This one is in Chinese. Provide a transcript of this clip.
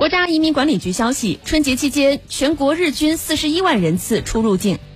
国家移民管理局消息，春节期间全国日均41万人次出入境，